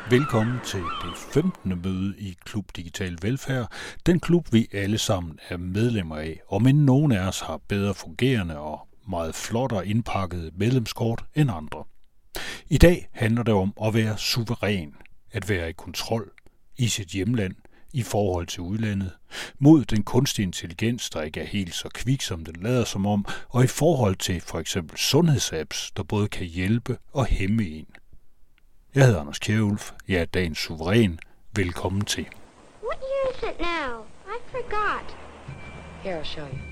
Velkommen til det 15. møde i Klub Digital Velfærd, den klub vi alle sammen er medlemmer af, og men nogen af os har bedre fungerende og meget flottere indpakket medlemskort end andre. I dag handler det om at være suveræn, at være i kontrol i sit hjemland, i forhold til udlandet, mod den kunstige intelligens, der ikke er helt så kvik, som den lader som om, og i forhold til for eksempel sundhedsapps, der både kan hjælpe og hæmme en. Jeg hedder Anders Kjærulf. Jeg er dagens suveræn. Velkommen til. What year is it now? I forgot. Here, I'll show you.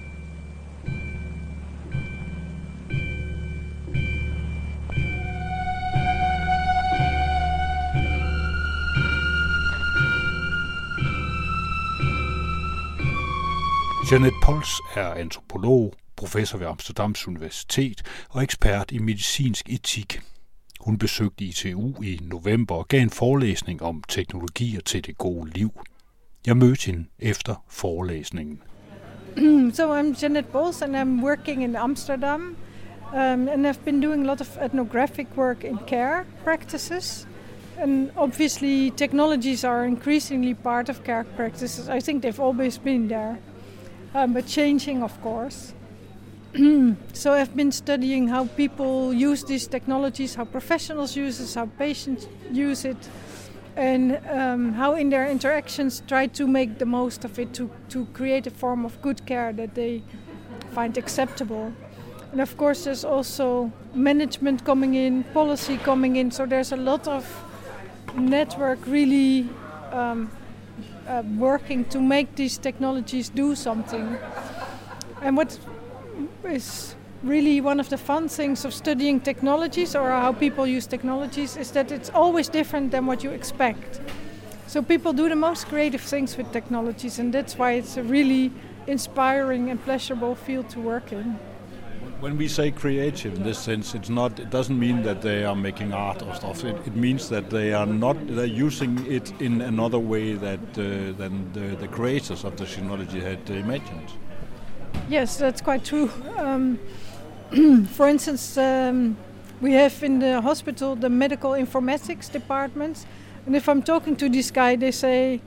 Jeanette Pols er antropolog, professor ved Amsterdams Universitet og ekspert i medicinsk etik. Hun besøgte ITU i november og gav en forelæsning om teknologier til det gode liv. Jeg mødte hende efter forelæsningen. So I'm Jeanette Pols and I'm working in Amsterdam and I've been doing a lot of ethnographic work in care practices. And obviously technologies are increasingly part of care practices. I think they've always been there, but changing of course. So I've been studying how people use these technologies, how professionals use it, how patients use it, and how in their interactions try to make the most of it to create a form of good care that they find acceptable. And of course there's also management coming in, policy coming in, so there's a lot of network really working to make these technologies do something. And what is really one of the fun things of studying technologies or how people use technologies is that it's always different than what you expect. So people do the most creative things with technologies, and that's why it's a really inspiring and pleasurable field to work in. When we say creative in this sense, it doesn't mean that they are making art or stuff. It means that they're using it in another way than the creators of the technology had imagined. Yes, that's quite true. For instance, we have in the hospital the medical informatics department, and if I'm talking to this guy, they say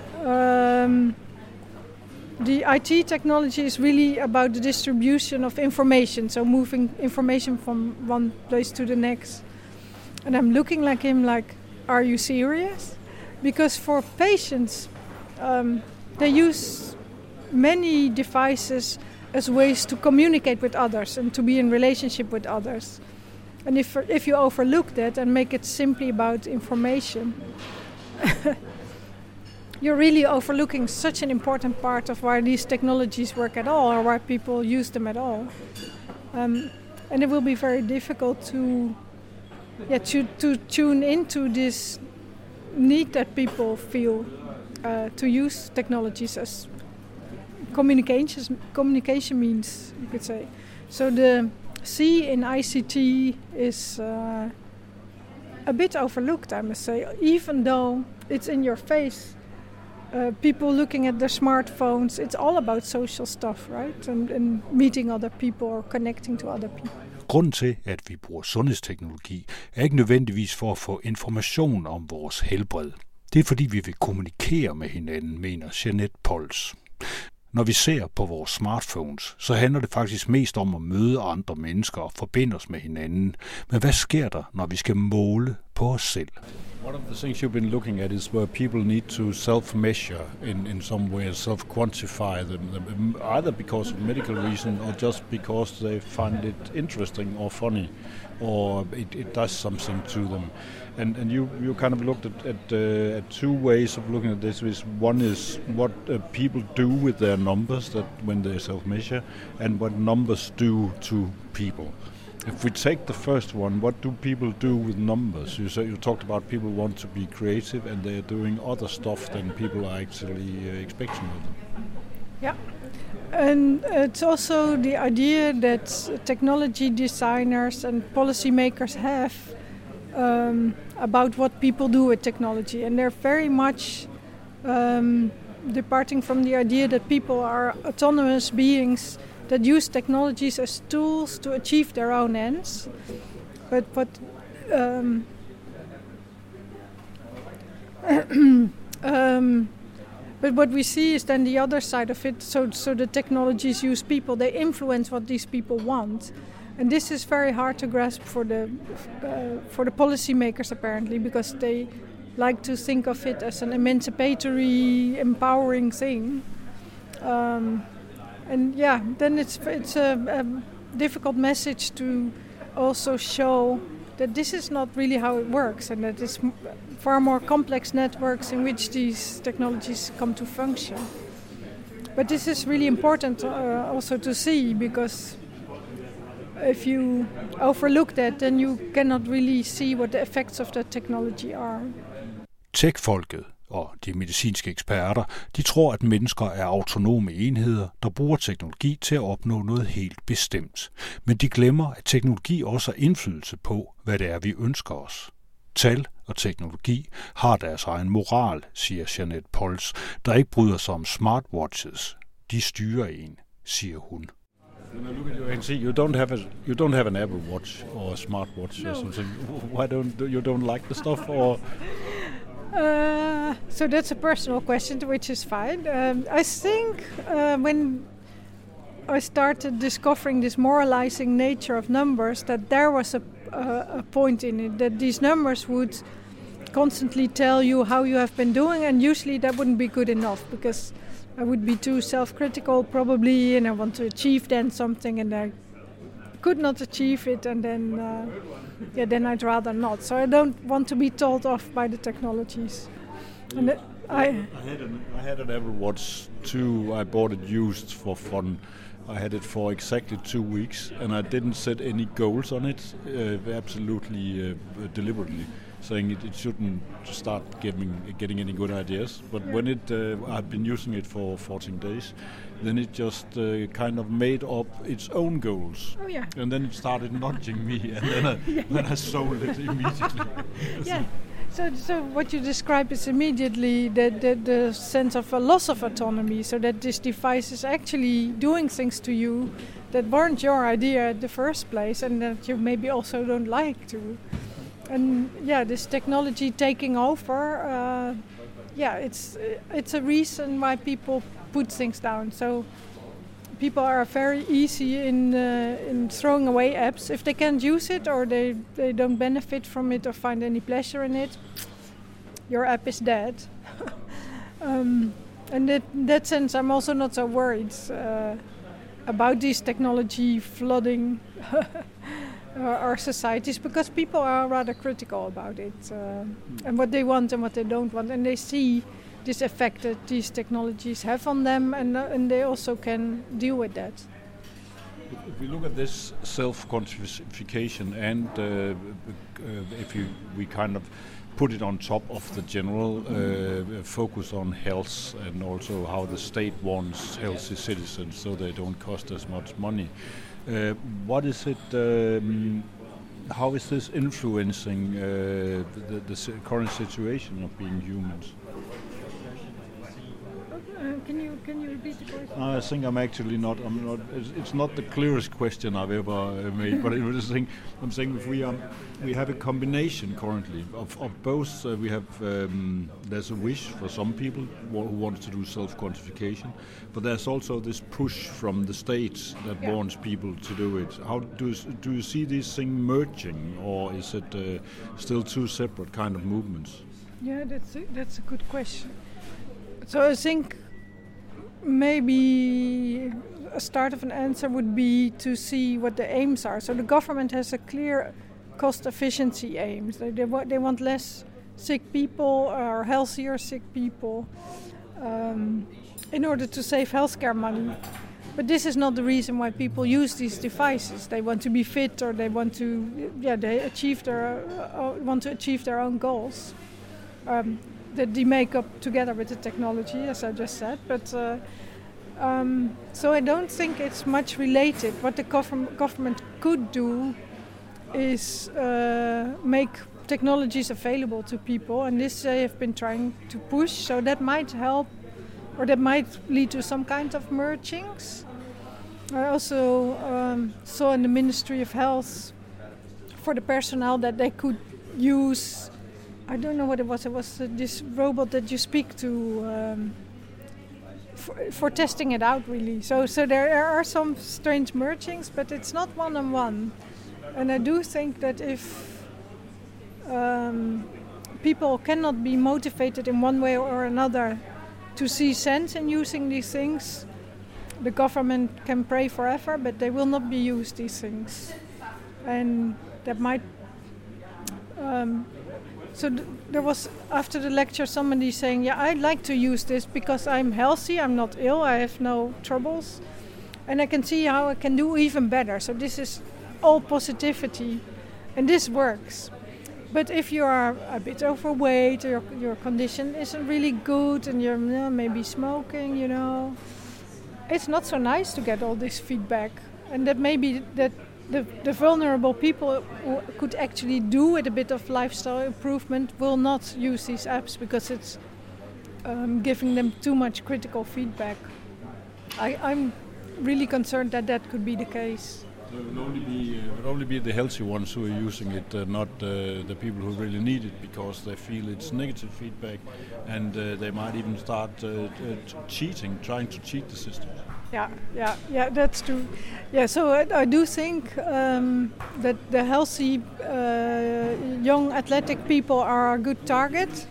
the IT technology is really about the distribution of information, so moving information from one place to the next. And I'm looking like him like, are you serious? Because for patients, they use many devices as ways to communicate with others and to be in relationship with others. And if you overlook that and make it simply about information, you're really overlooking such an important part of why these technologies work at all or why people use them at all. And it will be very difficult to tune into this need that people feel to use technologies as communication means, you could say. So the C in ICT is a bit overlooked, I must say, even though it's in your face. People looking at their smartphones, it's all about social stuff, right? And meeting other people or connecting to other people. Grunden til, at vi bruger sundhedsteknologi, er ikke nødvendigvis for at få information om vores helbred. Det er fordi, vi vil kommunikere med hinanden, mener Jeanette Pols. Når vi ser på vores smartphones, så handler det faktisk mest om at møde andre mennesker og forbinde os med hinanden. Men hvad sker der, når vi skal måle på os selv? One of the things you've been looking at is where people need to self-measure in some way, self-quantify them, either because of medical reason or just because they find it interesting or funny, or it does something to them. And you kind of looked at two ways of looking at this. One is what people do with their numbers that when they self-measure, and what numbers do to people. If we take the first one, what do people do with numbers? You talked about people want to be creative and they're doing other stuff than people are actually expecting of them. Yeah, and it's also the idea that technology designers and policymakers have about what people do with technology, and they're very much departing from the idea that people are autonomous beings that use technologies as tools to achieve their own ends. But But what we see is then the other side of it. So the technologies use people. They influence what these people want. And this is very hard to grasp for the policymakers, apparently, because they like to think of it as an emancipatory, empowering thing. Then it's a difficult message to also show that this is not really how it works, and that it's far more complex networks in which these technologies come to function. But this is really important also to see, because if you overlook that, then you cannot really see what the effects of that technology are. Tech-folket og de medicinske eksperter, de tror, at mennesker er autonome enheder, der bruger teknologi til at opnå noget helt bestemt. Men de glemmer, at teknologi også har indflydelse på, hvad det er, vi ønsker os. Tal og teknologi har deres egen moral, siger Jeanette Pols, der ikke bryder sig om smartwatches. De styrer en, siger hun. When I look at you and see you don't have an Apple Watch or a smartwatch or something. Why don't like the stuff or? So that's a personal question, which is fine. I think when I started discovering this moralizing nature of numbers, that there was a point in it, that these numbers would constantly tell you how you have been doing, and usually that wouldn't be good enough, because I would be too self-critical probably, and I want to achieve then something, and I could not achieve it, and then I'd rather not. So I don't want to be told off by the technologies. And I had an Apple Watch too. I bought it used for fun. I had it for exactly 2 weeks, and I didn't set any goals on it, absolutely deliberately, saying it shouldn't start getting any good ideas. But when I've been using it for 14 days, then it just kind of made up its own goals. Oh yeah. And then it started nudging me, and then I sold it immediately. Yeah. So what you describe is immediately the sense of a loss of autonomy, so that this device is actually doing things to you that weren't your idea at the first place, and that you maybe also don't like to. And this technology taking over, it's a reason why people put things down. So people are very easy in throwing away apps if they can't use it, or they don't benefit from it or find any pleasure in it. Your app is dead. And in that sense, I'm also not so worried about this technology flooding our societies, because people are rather critical about it and what they want and what they don't want, and they see this effect that these technologies have on them, and they also can deal with that. If we look at this self-quantification, and if we kind of put it on top of the general focus on health, and also how the state wants healthy citizens so they don't cost as much money, what is it? How is this influencing the current situation of being humans? Can you repeat the question? I think I'm not. It's not the clearest question I've ever made. But I'm saying if we have a combination currently of both. We have there's a wish for some people who want to do self-quantification, but there's also this push from the states that wants people to do it. How do you see these things merging, or is it still two separate kind of movements? Yeah, that's a good question. So I think maybe a start of an answer would be to see what the aims are. So the government has a clear cost efficiency aims. They want less sick people or healthier sick people in order to save healthcare money. But this is not the reason why people use these devices. They want to be fit, or they want to want to achieve their own goals. That they make up together with the technology, as I just said. But so I don't think it's much related. What the government could do is make technologies available to people, and this they have been trying to push. So that might help, or that might lead to some kind of mergings. I also saw in the Ministry of Health for the personnel that they could use I don't know what it was. It was this robot that you speak to for testing it out, really. So there are some strange mergings, but it's not one-on-one. And I do think that if people cannot be motivated in one way or another to see sense in using these things, the government can pray forever, but they will not be used, these things. And that might... there was, after the lecture, somebody saying, yeah, I'd like to use this because I'm healthy, I'm not ill, I have no troubles, and I can see how I can do even better. So this is all positivity, and this works. But if you are a bit overweight, or your condition isn't really good, and you're maybe smoking, it's not so nice to get all this feedback. And that maybe that the vulnerable people who could actually do with a bit of lifestyle improvement will not use these apps because it's giving them too much critical feedback. I'm really concerned that could be the case. So it would only be the healthy ones who are using it, not the people who really need it because they feel it's negative feedback, and they might even start trying to cheat the system. Yeah, that's true. Yeah, so I do think that the healthy, young, athletic people are a good target.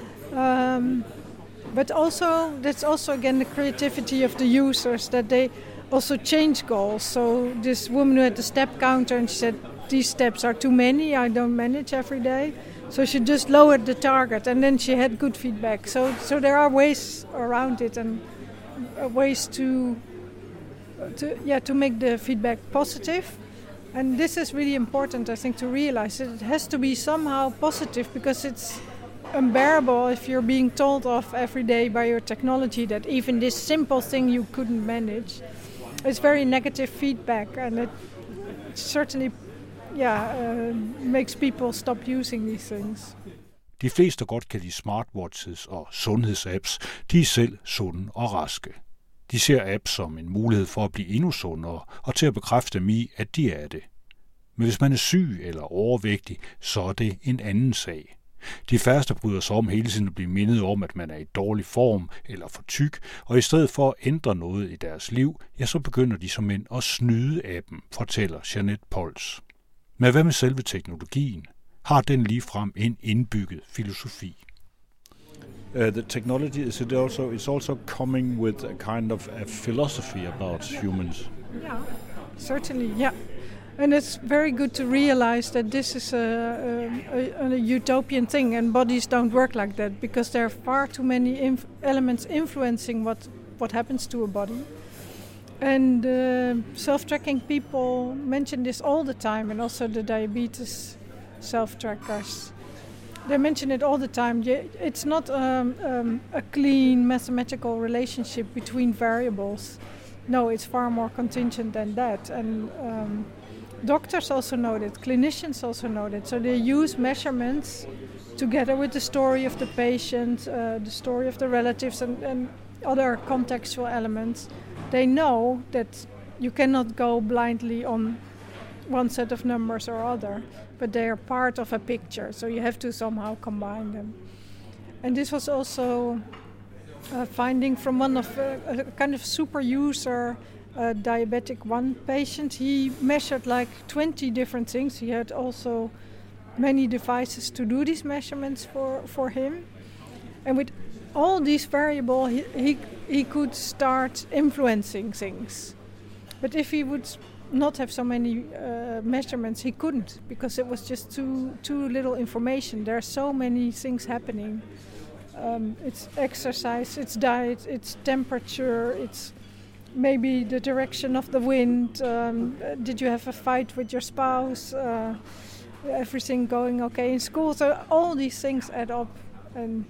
But also, that's also again the creativity of the users, that they also change goals. So this woman who had the step counter, and she said, these steps are too many, I don't manage every day. So she just lowered the target, and then she had good feedback. So there are ways around it, and ways to make the feedback positive. And this is really important, I think, to realize that it has to be somehow positive, because it's unbearable if you're being told off every day by your technology that even this simple thing you couldn't manage. It's very negative feedback, and it certainly makes people stop using these things. De fleste godt kan lide smartwatches og sundhedsapps. De er selv sunde og raske. De ser apps som en mulighed for at blive endnu sundere og til at bekræfte dem i, at de er det. Men hvis man er syg eller overvægtig, så er det en anden sag. De færreste bryder sig om hele tiden at blive mindet om, at man er i dårlig form eller for tyk, og i stedet for at ændre noget i deres liv, så begynder de som end at snyde appen, fortæller Jeanette Pols. Men hvad med selve teknologien? Har den ligefrem en indbygget filosofi? The technology is also coming with a kind of a philosophy about humans. Yeah, certainly, yeah. And it's very good to realize that this is a utopian thing, and bodies don't work like that, because there are far too many elements influencing what happens to a body. And self-tracking people mention this all the time, and also the diabetes self-trackers. They mention it all the time. It's not a clean mathematical relationship between variables. No, it's far more contingent than that. And doctors also know that, clinicians also know that. So they use measurements together with the story of the patient, the story of the relatives, and other contextual elements. They know that you cannot go blindly on one set of numbers or other, but they are part of a picture, so you have to somehow combine them. And this was also a finding from one of a kind of super user, diabetic one patient. He measured like 20 different things. He had also many devices to do these measurements for him. And with all these variables, he could start influencing things. But if he would not have so many measurements, he couldn't, because it was just too little information. There are so many things happening. It's exercise, it's diet, it's temperature, it's maybe the direction of the wind. Did you have a fight with your spouse? Everything going okay in school? So all these things add up and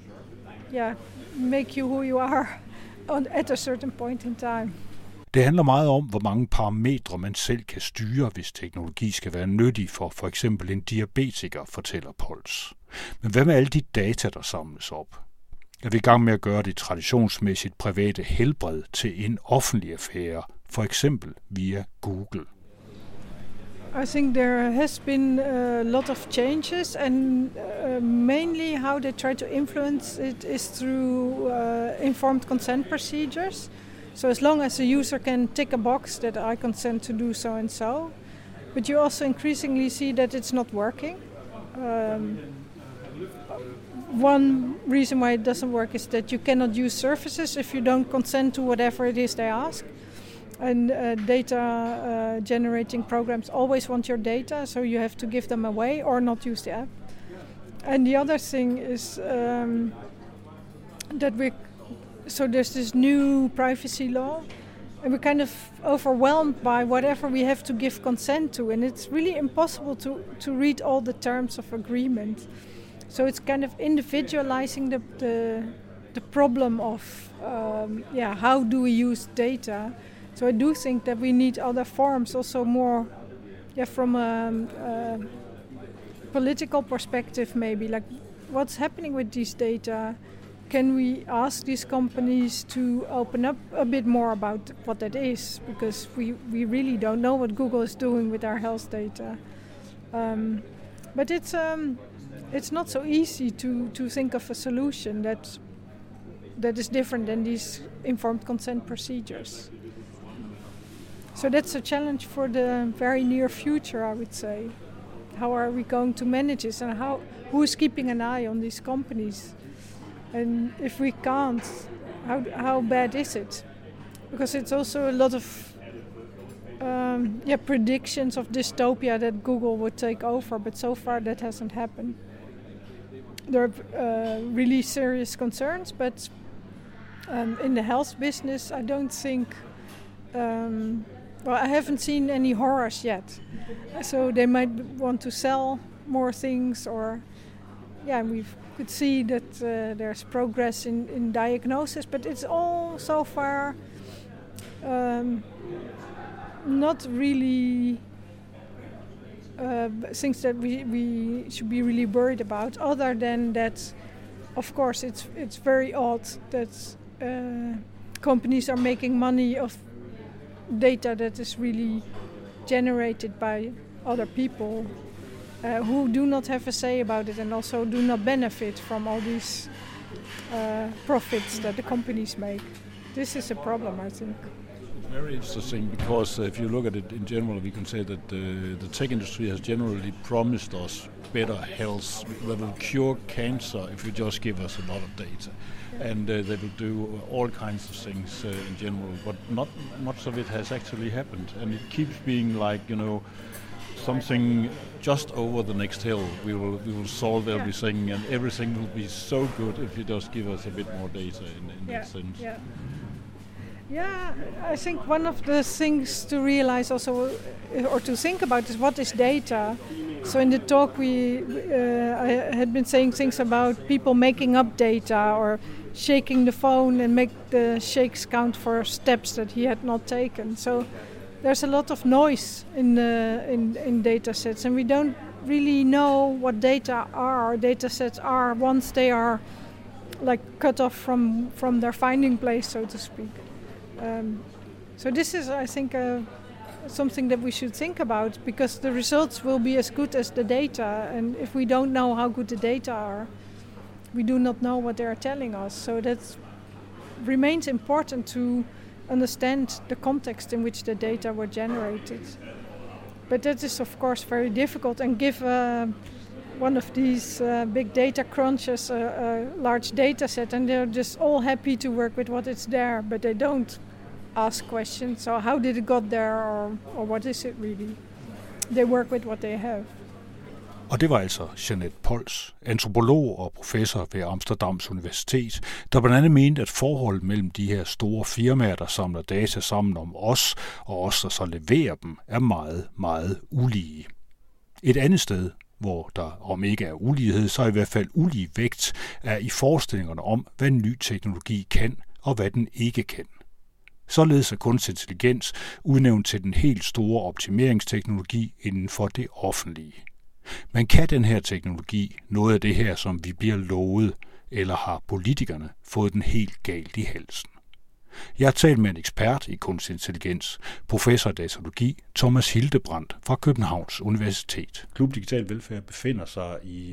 make you who you are at a certain point in time. Det handler meget om, hvor mange parametre man selv kan styre, hvis teknologi skal være nyttig for eksempel en diabetiker, fortæller Pols. Men hvad med alle de data, der samles op? Er vi i gang med at gøre det traditionsmæssigt private helbred til en offentlig affære, for eksempel via Google? I think there has been a lot of changes, and mainly how they try to influence it is through informed consent procedures. So as long as a user can tick a box that I consent to do so and so, but you also increasingly see that it's not working. One reason why it doesn't work is that you cannot use services if you don't consent to whatever it is they ask. And data generating programs always want your data, so you have to give them away or not use the app. And the other thing is that there's this new privacy law, and we're kind of overwhelmed by whatever we have to give consent to, and it's really impossible to read all the terms of agreement. So it's kind of individualizing the problem of how do we use data. So I do think that we need other forms, also more from a political perspective maybe, like what's happening with these data. Can we ask these companies to open up a bit more about what that is? Because we really don't know what Google is doing with our health data. But it's not so easy to think of a solution that is different than these informed consent procedures. So that's a challenge for the very near future, I would say. How are we going to manage this, and who is keeping an eye on these companies? And if we can't, how bad is it? Because it's also a lot of predictions of dystopia that Google would take over, but so far that hasn't happened. There are really serious concerns, but in the health business, I don't think... I haven't seen any horrors yet. So they might want to sell more things, or... we could see that there's progress in diagnosis, but it's all so far not really things that we should be really worried about, other than that, of course, it's very odd that companies are making money of data that is really generated by other people who do not have a say about it and also do not benefit from all these profits that the companies make. This is a problem, I think. Very interesting, because if you look at it in general, we can say that the tech industry has generally promised us better health. They will cure cancer if you just give us a lot of data. And they will do all kinds of things in general, but not much of it has actually happened. And it keeps being like, something just over the next hill. We will solve everything, and everything will be so good if you just give us a bit more data in that sense. Yeah, I think one of the things to realize also, or to think about, is what is data. So in the talk I had been saying things about people making up data or shaking the phone and make the shakes count for steps that he had not taken. So there's a lot of noise in data sets, and we don't really know what data sets are once they are like cut off from their finding place, so to speak. So this is, I think, something that we should think about, because the results will be as good as the data, and if we don't know how good the data are, we do not know what they are telling us. So that remains important to understand the context in which the data were generated. But that is, of course, very difficult, and give one of these big data crunchers a large data set, and they're just all happy to work with what is there, but they don't ask questions. So how did it got there, or what is it really? They work with what they have. Og det var altså Jeanette Pols, antropolog og professor ved Amsterdams Universitet, der blandt andet mente, at forholdet mellem de her store firmaer, der samler data sammen om os, og os, der så leverer dem, er meget, meget ulige. Et andet sted, hvor der om ikke er ulighed, så i hvert fald ulige vægt, er i forestillingerne om, hvad ny teknologi kan, og hvad den ikke kan. Således er kunstig intelligens udnævnt til den helt store optimeringsteknologi inden for det offentlige. Men kan den her teknologi noget af det her, som vi bliver lovet, eller har politikerne fået den helt galt i halsen? Jeg har talt med en ekspert i kunstig intelligens, professor i datalogi, Thomas Hildebrandt fra Københavns Universitet. Klub Digital Velfærd befinder sig i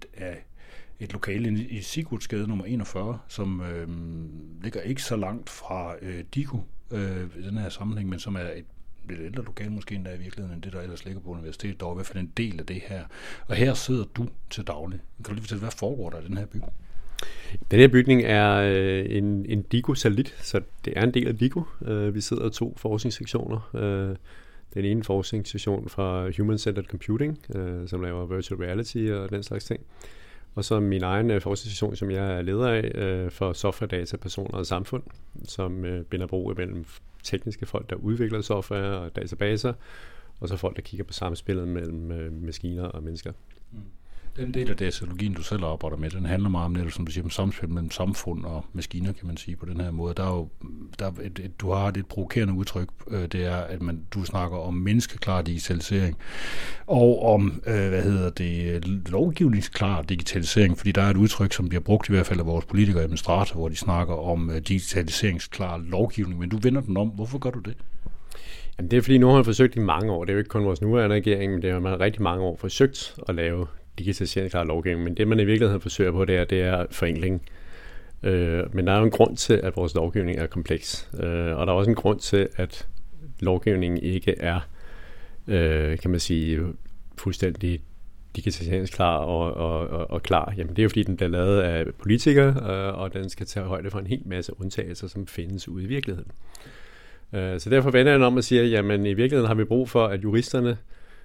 et lokale i Sigurdsgade nummer 41, som ligger ikke så langt fra DIKU i den her sammenhæng, men som er et lidt ældre lokale måske endda i virkeligheden, end det, der ellers ligger på universitetet. Der er i hvert fald en del af det her. Og her sidder du til daglig. Kan du lige fortælle, hvad foregår der i den her bygning? Den her bygning er en DIKU-satellit, så det er en del af DIKU. Vi sidder 2 forskningssektioner. Den ene forskningssektion fra Human Centered Computing, som laver virtual reality og den slags ting. Og så min egen forskningssektion, som jeg er leder af, for software, data, personer og samfund, som binder bro imellem tekniske folk, der udvikler software og databaser, og så folk, der kigger på samspillet mellem maskiner og mennesker. Den del af datalogien, du selv arbejder med, den handler meget om netop, som du siger, om samspil mellem samfund og maskiner, kan man sige på den her måde. Du har et provokerende udtryk, det er, at du snakker om menneskeklar digitalisering, og om, lovgivningsklar digitalisering, fordi der er et udtryk, som bliver brugt i hvert fald af vores politikere og administratorer, hvor de snakker om digitaliseringsklar lovgivning, men du vender den om. Hvorfor gør du det? Jamen, det er fordi, nu har man forsøgt i mange år. Det er jo ikke kun vores nuværende regering, men det har man rigtig mange år forsøgt at lave digitaliseringsklar lovgivning, men det man i virkeligheden forsøger på, det er forenkling. Men der er jo en grund til, at vores lovgivning er kompleks, og der er også en grund til, at lovgivningen ikke er, kan man sige, fuldstændig digitaliseringsklar og klar. Jamen det er jo fordi, den bliver lavet af politikere, og den skal tage højde for en hel masse undtagelser, som findes ude i virkeligheden. Så derfor vender jeg om at sige, jamen i virkeligheden har vi brug for, at juristerne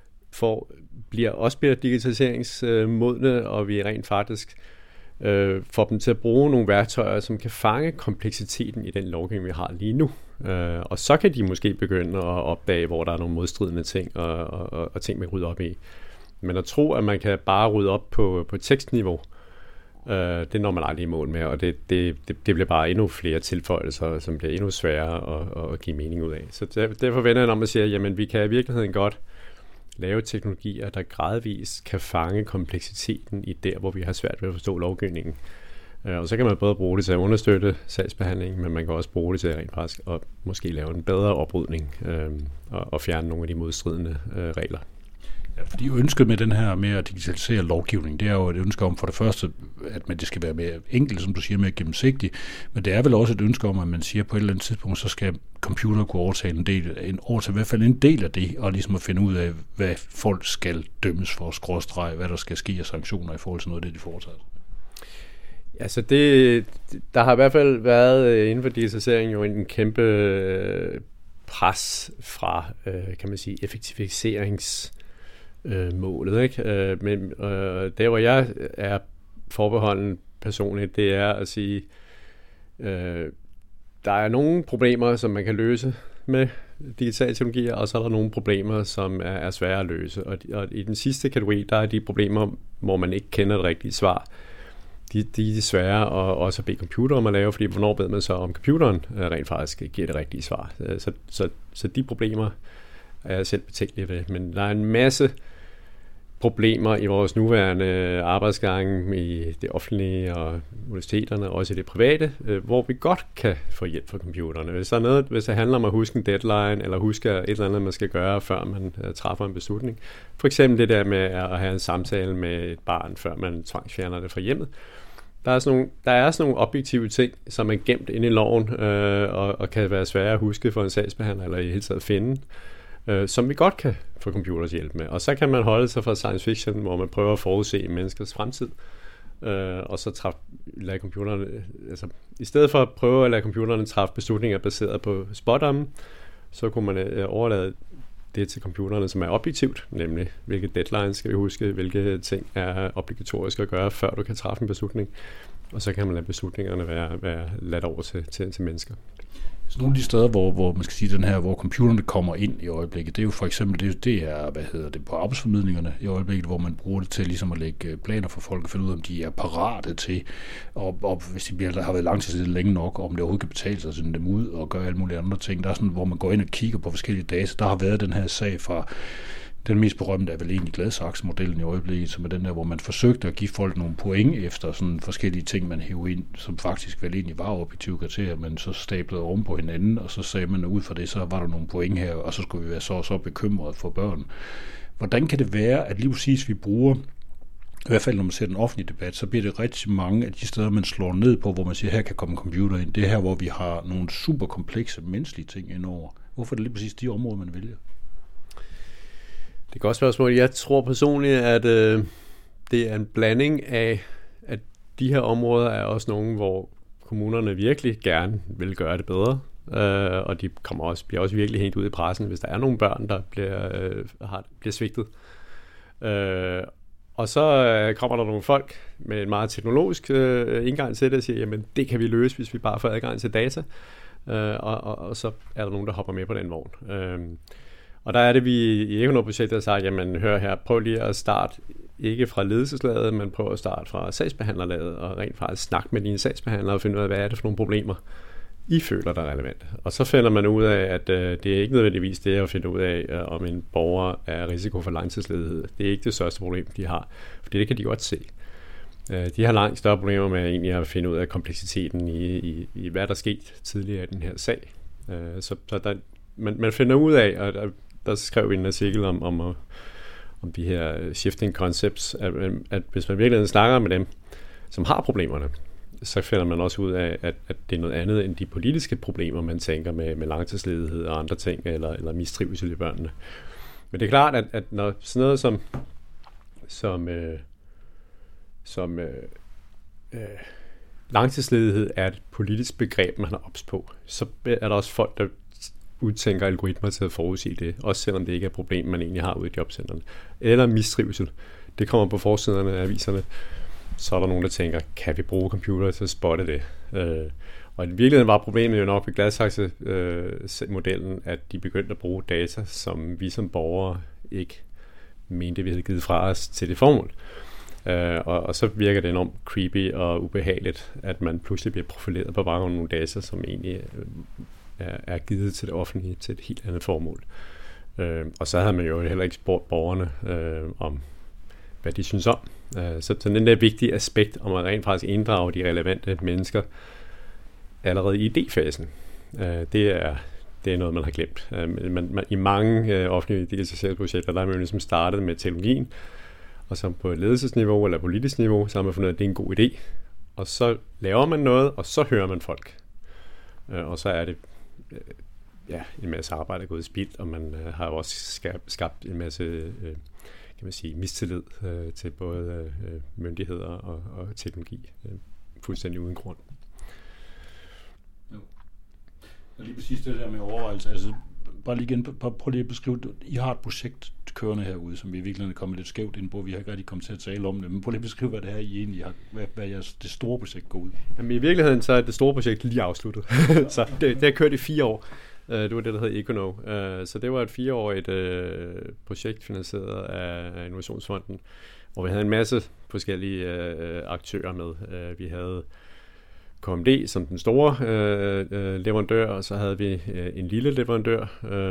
bliver digitaliseringsmodne, og vi rent faktisk får dem til at bruge nogle værktøjer, som kan fange kompleksiteten i den lovgivning, vi har lige nu. Og så kan de måske begynde at opdage, hvor der er nogle modstridende ting, og ting, man rydder op i. Men at tro, at man kan bare rydde op på tekstniveau, det når man aldrig i mål med, og det bliver bare endnu flere tilføjelser, som bliver endnu sværere at give mening ud af. Så derfor vender jeg om at sige, jamen vi kan i virkeligheden godt lave teknologier, der gradvist kan fange kompleksiteten i der, hvor vi har svært ved at forstå lovgivningen. Og så kan man både bruge det til at understøtte sagsbehandling, men man kan også bruge det til rent faktisk at måske lave en bedre oprydning og fjerne nogle af de modstridende regler. Ja, fordi ønsket med den her med at digitalisere lovgivning, det er jo et ønske om for det første, at det skal være mere enkelt, som du siger, mere gennemsigtigt, men det er vel også et ønske om, at man siger på et eller andet tidspunkt, så skal computer kunne overtage i hvert fald en del af det, og ligesom at finde ud af, hvad folk skal dømmes for, skråstreg, hvad der skal ske af sanktioner i forhold til noget af det, de foretager. Altså der har i hvert fald været inden for digitalisering jo en kæmpe pres fra, kan man sige, effektiviseringsmålet, ikke? Men der, hvor jeg er forbeholden personligt, det er at sige, der er nogle problemer, som man kan løse med digitale teknologier, og så er der nogle problemer, som er svære at løse. Og i den sidste kategori, der er de problemer, hvor man ikke kender det rigtige svar. De er svære at også bede computer om at lave, fordi hvornår ved man så, om computeren rent faktisk giver det rigtige svar. Så de problemer er jeg selv betænkelig ved. Men der er en masse problemer i vores nuværende arbejdsgange i det offentlige og universiteterne, også i det private, hvor vi godt kan få hjælp fra computerne. Hvis det handler om at huske en deadline, eller huske et eller andet, man skal gøre, før man træffer en beslutning. For eksempel det der med at have en samtale med et barn, før man tvangsfjerner det fra hjemmet. Der er sådan nogle objektive ting, som er gemt inde i loven, og kan være svære at huske for en sagsbehandler, eller i hele taget finde, som vi godt kan få computers hjælp med. Og så kan man holde sig fra science fiction, hvor man prøver at forudse menneskers fremtid, og så lade computerne, altså i stedet for at prøve at lade computerne træffe beslutninger baseret på spådomme, så kunne man overlade det til computerne, som er objektivt, nemlig hvilke deadlines skal vi huske, hvilke ting er obligatoriske at gøre, før du kan træffe en beslutning, og så kan man lade beslutningerne være ladt over til mennesker. Så nogle af de steder, hvor man skal sige den her, hvor computerne kommer ind i øjeblikket, det er jo for eksempel, det er på arbejdsformidlingerne i øjeblikket, hvor man bruger det til ligesom at lægge planer for folk og finde ud af, om de er parate til, og hvis de har været langtidsledige længe nok, om det overhovedet kan betale sig at sende dem ud og gøre alle mulige andre ting. Der er sådan, hvor man går ind og kigger på forskellige data. Der har været den her sag fra Den mest berømte er vel egentlig Gladsaxe-modellen i øjeblikket, som er den der, hvor man forsøgte at give folk nogle point efter sådan forskellige ting, man hævde ind, som faktisk vel egentlig var objektive kriterier, men så stablede oven på hinanden, og så sagde man, at ud fra det, så var der nogle point her, og så skulle vi være så bekymrede for børn. Hvordan kan det være, at lige præcis vi bruger, i hvert fald når man ser den offentlige debat, så bliver det rigtig mange af de steder, man slår ned på, hvor man siger, her kan komme computer ind. Det er her, hvor vi har nogle super komplekse menneskelige ting indover. Hvorfor er det lige præcis de områder, man vælger? Det er et godt spørgsmål. Jeg tror personligt, at det er en blanding af, at de her områder er også nogle, hvor kommunerne virkelig gerne vil gøre det bedre. Og de bliver også virkelig hængt ud i pressen, hvis der er nogle børn, der bliver svigtet. Og så kommer der nogle folk med en meget teknologisk indgang til det og siger, jamen det kan vi løse, hvis vi bare får adgang til data. Og så er der nogen, der hopper med på den vogn. Og der er det, vi i Econo-projektet har sagt, jamen hør her, prøv lige at starte ikke fra ledelseslaget, men prøv at starte fra sagsbehandlerlaget og rent faktisk snakke med dine sagsbehandlere og finde ud af, hvad er det for nogle problemer, I føler, der er relevant. Og så finder man ud af, at det er ikke nødvendigvis det at finde ud af, om en borger er risiko for langtidsledighed. Det er ikke det største problem, de har, for det kan de godt se. De har langt større problemer med egentlig at finde ud af kompleksiteten i hvad der er sket tidligere i den her sag. Så der, man finder ud af, og der skrev vi en artikel om de her shifting concepts, at hvis man virkelig snakker med dem, som har problemerne, så finder man også ud af, at det er noget andet end de politiske problemer, man tænker med langtidsledighed og andre ting, eller mistrivsel i børnene. Men det er klart, at når sådan noget som langtidsledighed er et politisk begreb, man har ops på, så er der også folk, der udtænker algoritmer til at forudsige det, også selvom det ikke er et problem, man egentlig har ude i jobcentrene. Eller mistrivsel. Det kommer på forsiderne af aviserne. Så er der nogen, der tænker, kan vi bruge computer til at spotte det? Og i virkeligheden var problemet jo nok ved Gladsaxe-modellen, at de begyndte at bruge data, som vi som borgere ikke mente, vi havde givet fra os til det formål. Og så virker det enormt creepy og ubehageligt, at man pludselig bliver profileret på baggrund af nogle data, som egentlig er givet til det offentlige til et helt andet formål. Og så havde man jo heller ikke spurgt borgerne om, hvad de synes om. Så den der vigtige aspekt om at rent faktisk inddrage de relevante mennesker allerede i idéfasen, det er noget, man har glemt. I mange offentlige digitaliseringsprojekter, der er man jo ligesom startet med teknologien, og så på et ledelsesniveau eller politisk niveau, så har man fundet ud af, at det er en god idé. Og så laver man noget, og så hører man folk. Og så er det en masse arbejde gået i spild, og man har jo også skabt en masse kan man sige, mistillid til både myndigheder og teknologi, fuldstændig uden grund. Jo. Og lige præcis det der med overvejelse, altså bare lige igen, prøv lige at beskrive, I har et projekt kørende herude, som vi virkelig er kommet lidt skævt ind på, vi har ikke rigtig kommet til at tale om det, men prøv lige at beskrive, hvad det her I egentlig har, hvad jeres det store projekt går ud. Jamen i virkeligheden så er det store projekt lige afsluttet, så det har kørt i 4 år. Det var det, der hed Econo. Så det var et 4-årigt projekt finansieret af Innovationsfonden, hvor vi havde en masse forskellige aktører med. Vi havde KMD som den store leverandør, og så havde vi en lille leverandør,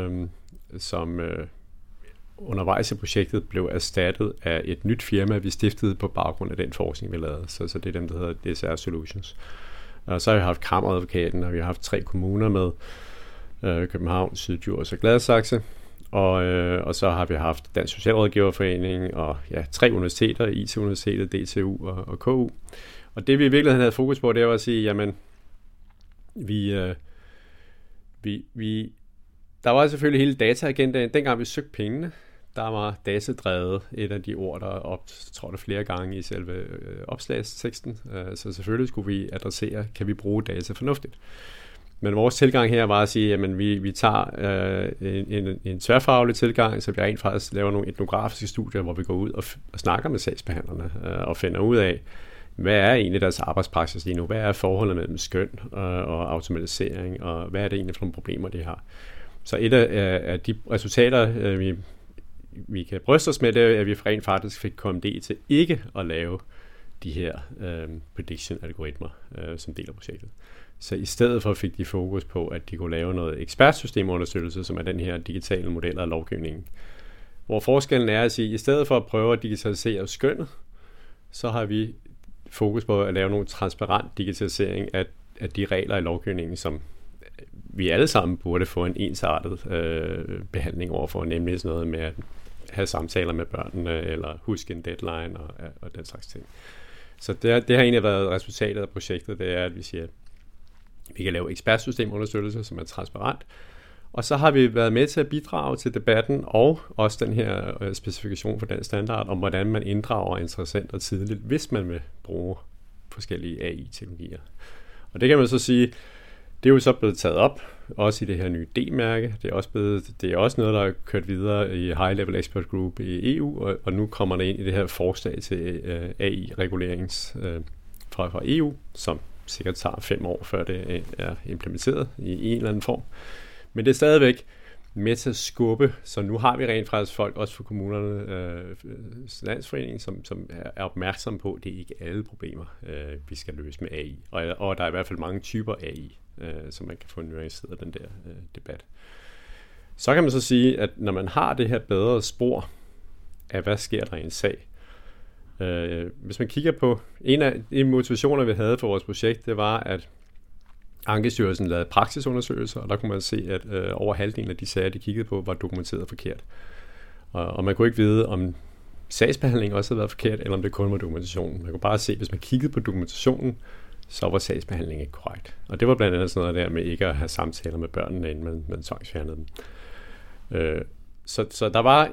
som undervejs i projektet blev erstattet af et nyt firma, vi stiftede på baggrund af den forskning, vi lavede. Så det er dem, der hedder DSR Solutions. Og så har vi haft Kammeradvokaten, og vi har haft 3 kommuner med, København, Syddjurs og Gladsaxe, og så har vi haft Dansk Socialrådgiverforening og 3 universiteter, IT-universitetet, DTU og KU. Og det vi i virkeligheden havde fokus på, det var at sige, jamen der var selvfølgelig hele dataagendaen. Dengang vi søgte pengene, der var datadrevet et af de ord, der tror det flere gange i selve opslagsteksten. Så selvfølgelig skulle vi adressere, kan vi bruge data fornuftigt. Men vores tilgang her var at sige, at vi tager en tværfaglig tilgang, så vi rent faktisk laver nogle etnografiske studier, hvor vi går ud og snakker med sagsbehandlerne og finder ud af, hvad er egentlig deres arbejdspraksis lige nu? Hvad er forholdet mellem skøn og automatisering, og hvad er det egentlig for nogle problemer, de har? Så et af de resultater, vi kan bryste os med, det er, at vi rent faktisk fik KMD til ikke at lave de her prediction-algoritmer som del af projektet. Så i stedet for fik de fokus på, at de kunne lave noget ekspertsystemunderstøttelse, som er den her digitale model af lovgivningen, Hvor forskellen er at sige, at i stedet for at prøve at digitalisere skønnet, så har vi fokus på at lave nogle transparent digitalisering af de regler i lovgivningen, som vi alle sammen burde få en ensartet behandling overfor, nemlig sådan noget med at have samtaler med børnene, eller huske en deadline og den slags ting. Så det har egentlig været resultatet af projektet, det er, at vi siger, at vi kan lave ekspertsystemunderstøttelse, som er transparent, og så har vi været med til at bidrage til debatten, og også den her specifikation for den standard, om hvordan man inddrager interessenter tidligt, hvis man vil bruge forskellige AI-teknologier. Og det kan man så sige, det er jo så blevet taget op, også i det her nye D-mærke. Det er også noget, der er kørt videre i High Level Expert Group i EU, og nu kommer der ind i det her forslag til AI-regulerings fra EU, som sikkert tager 5 år, før det er implementeret i en eller anden form. Men det er stadigvæk med til at skubbe, så nu har vi rent faktisk folk, også for kommunerne, landsforeningen, som er opmærksomme på, at det er ikke alle problemer, vi skal løse med AI. Og der er i hvert fald mange typer AI, så man kan få nuanceret af den der debat. Så kan man så sige, at når man har det her bedre spor af, hvad sker der i en sag, hvis man kigger på, en af de motivationer, vi havde for vores projekt, det var, at Ankestyrelsen lavede praksisundersøgelser, og der kunne man se, at over halvdelen af de sager, de kiggede på, var dokumenteret forkert. Og man kunne ikke vide, om sagsbehandlingen også havde været forkert, eller om det kun var dokumentationen. Man kunne bare se, at hvis man kiggede på dokumentationen, så var sagsbehandlingen ikke korrekt. Og det var blandt andet sådan noget der med ikke at have samtaler med børnene, inden man tvangsfjernede dem. Så der var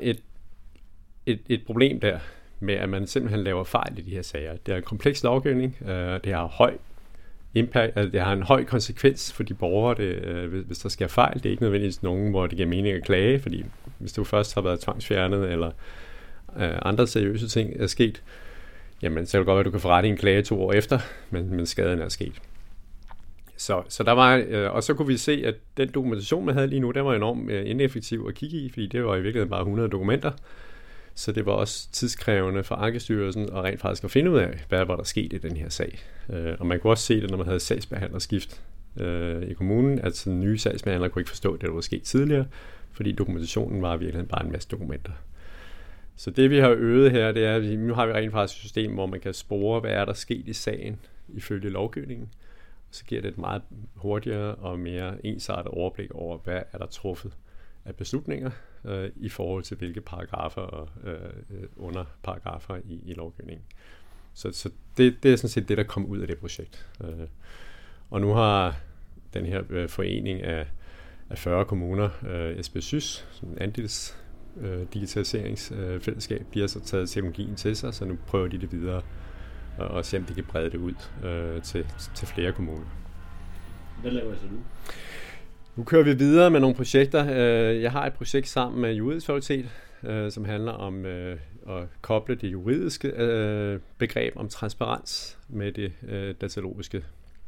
et problem der, med at man simpelthen laver fejl i de her sager. Det er en kompleks lovgivning, det har høj impact, altså det har en høj konsekvens for de borgere, hvis der sker fejl. Det er ikke nødvendigvis nogen, hvor det giver mening at klage, fordi hvis du først har været tvangsfjernet, eller andre seriøse ting er sket, jamen så er det godt, at du kan få ret i en klage 2 år efter, men skaden er sket. Så der var, og så kunne vi se, at den dokumentation, man havde lige nu, den var enormt ineffektiv at kigge i, fordi det var i virkeligheden bare 100 dokumenter. Så det var også tidskrævende for Ankestyrelsen og rent faktisk at finde ud af, hvad var der sket i den her sag. Og man kunne også se det, når man havde sagsbehandlerskift i kommunen, at sådan nye sagsbehandlere kunne ikke forstå det, der var sket tidligere, fordi dokumentationen var i virkeligheden bare en masse dokumenter. Så det vi har øvet her, det er, at nu har vi rent faktisk et system, hvor man kan spore, hvad er der sket i sagen ifølge lovgivningen. Og så giver det et meget hurtigere og mere ensartet overblik over, hvad er der truffet af beslutninger i forhold til hvilke paragrafer og underparagrafer i lovgivningen. Så det er sådan set det, der kom ud af det projekt. Og nu har den her forening af 40 kommuner, SBSys, sådan en andels digitaliseringsfællesskab, de har så taget teknologien til sig, så nu prøver de det videre og se, om de kan brede det ud til flere kommuner. Hvad laver I så nu? Nu kører vi videre med nogle projekter. Jeg har et projekt sammen med Juridisk Fakultet, som handler om at koble det juridiske begreb om transparens med det datalogiske.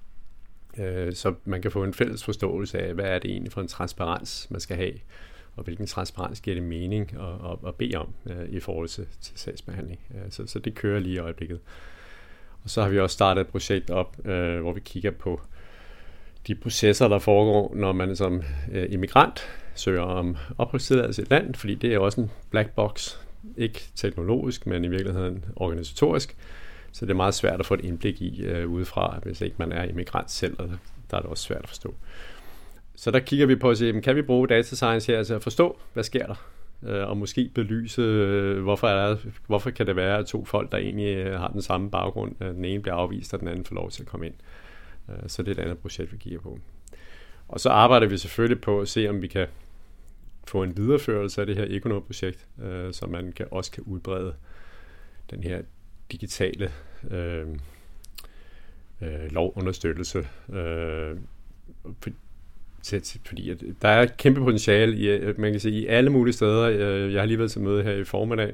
Så man kan få en fælles forståelse af, hvad er det egentlig for en transparens, man skal have, og hvilken transparens giver det mening at bede om i forhold til sagsbehandling. Så det kører lige i øjeblikket. Og så har vi også startet et projekt op, hvor vi kigger på de processer, der foregår, når man som immigrant søger om opholdstilladelse i et land, fordi det er også en black box, ikke teknologisk, men i virkeligheden organisatorisk. Så det er meget svært at få et indblik i udefra, hvis ikke man er immigrant selv, og der er det også svært at forstå. Så der kigger vi på at se, kan vi bruge data science her til at forstå, hvad sker der? Og måske belyse, hvorfor kan det være, at 2 folk, der egentlig har den samme baggrund, den ene bliver afvist, og den anden får lov til at komme ind. Så det er et andet projekt, vi kigger på. Og så arbejder vi selvfølgelig på at se, om vi kan få en videreførelse af det her Econo-projekt, så man også kan udbrede den her digitale lovunderstøttelse. Fordi at der er et kæmpe potentiale man kan sige, i alle mulige steder. Jeg har lige været til møde her i formiddag.